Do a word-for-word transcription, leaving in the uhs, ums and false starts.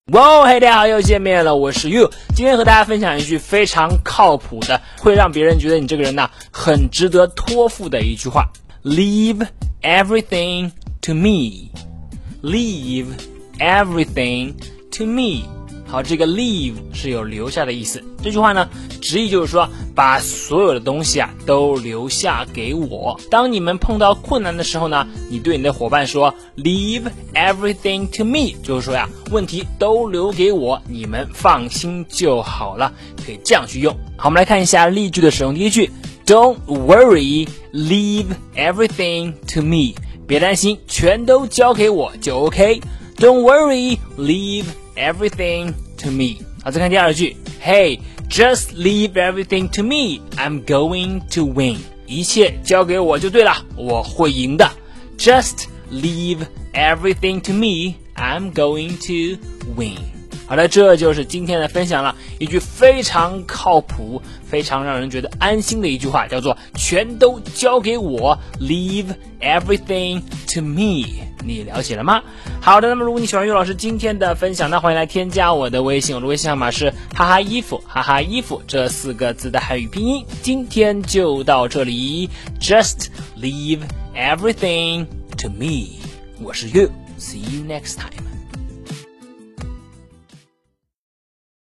哇，嘿，大家好，又见面了，我是 You。今天和大家分享一句非常靠谱的，会让别人觉得你这个人呢很值得托付的一句话 ：Leave everything to me. Leave everything to me. 好，这个 leave 是有留下的意思。这句话呢，直译就是说，把所有的东西啊都留下给我。当你们碰到困难的时候呢，你对你的伙伴说 Leave everything to me， 就是说呀，问题都留给我，你们放心就好了，可以这样去用。好，我们来看一下例句的使用。第一句 Don't worry, leave everything to me。别担心，全都交给我就 OK。Don't worry, leave everything to me。 好，再看第二句 Hey, just leave everything to me. I'm going to win. 一切交给我就对了，我会赢的。 Just leave everything to me. I'm going to win. 好的，这就是今天的分享了，一句非常靠谱非常让人觉得安心的一句话，叫做全都交给我 Leave everything to me。 你了解了吗？好的，那么如果你喜欢岳老师今天的分享，那欢迎来添加我的微信，我的微信号码是哈哈衣服哈哈衣服这四个字的汉语拼音。今天就到这里， Just leave everything to me。 我是 You, see you next time。